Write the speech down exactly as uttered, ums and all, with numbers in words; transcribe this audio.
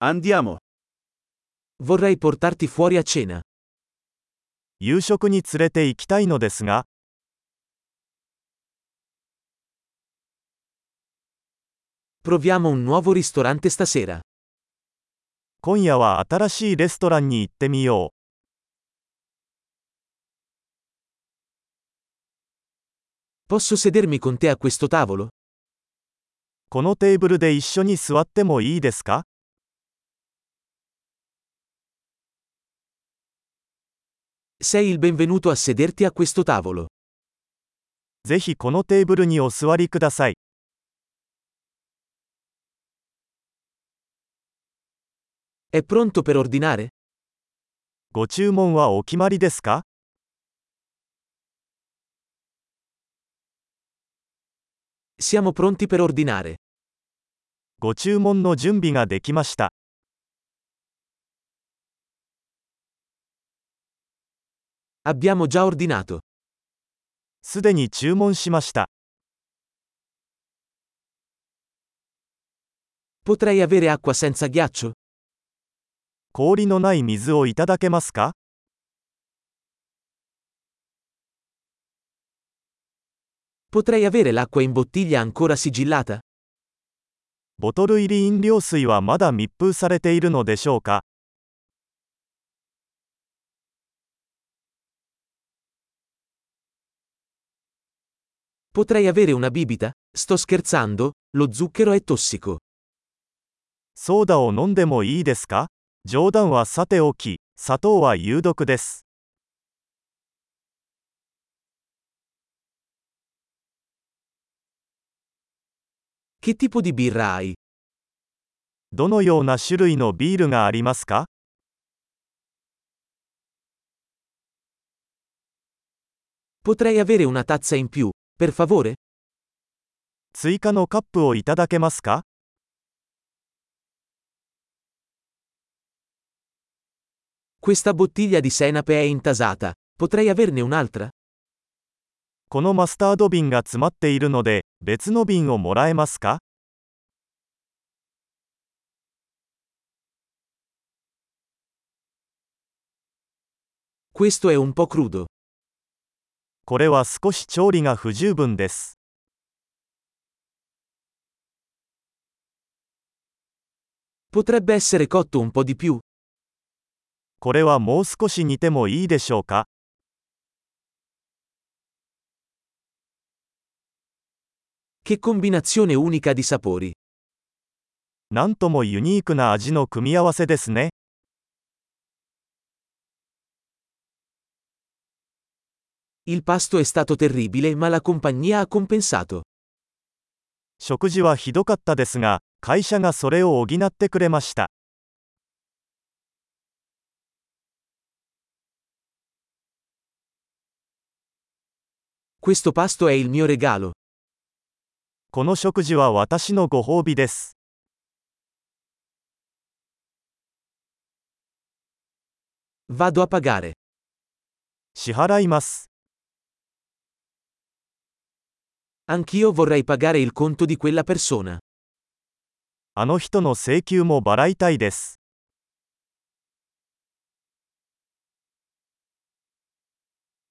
Andiamo. Vorrei portarti fuori a cena. 夕食に連れて行きたいのですが、 Proviamo un nuovo ristorante stasera. 今夜は新しいレストランに行ってみよ Posso sedermi con te a questo tavolo? う。このテーブルで一緒に座ってもいいですか？ Sei il benvenuto a sederti a questo tavolo. ぜひこのテーブルにお座りください。 È pronto per ordinare? ご注文はお決まりですか？ Siamo pronti per ordinare. ご注文の準備ができました。 Abbiamo già ordinato. すでに注文しました。 Potrei avere acqua senza ghiaccio? 氷のない水をいただけますか？ Potrei avere l'acqua in bottiglia ancora sigillata? ボトル入り飲料水はまだ密封されているのでしょうか？ Potrei avere una bibita? Sto scherzando, lo zucchero è tossico. ソーダを飲んでもいいですか？冗談はさておき、砂糖は有毒です。 Che tipo di birra hai? どのような種類のビールがありますか？ Potrei avere una tazza in più, per favore? 追加のカップをいただけますか？ Questa bottiglia di senape è intasata. Potrei averne un'altra? このマスタード瓶が詰まっているので、別の瓶をもらえますか？ Questo è un po' crudo. これは少し調理が不十分です。 Potrebbe essere cotto un po' di più. これはもう少し煮てもいいでしょうか？ Che combinazione unica di sapori. なんともユニークな味の組み合わせですね。 Il pasto è stato terribile, ma la compagnia ha compensato. 食事はひどかったですが、会社がそれを補ってくれました。 Questo pasto è il mio regalo. この食事は私のご褒美です。 Vado a pagare. 支払います。 Anch'io vorrei pagare il conto di quella persona. あの人の請求も払いたいです。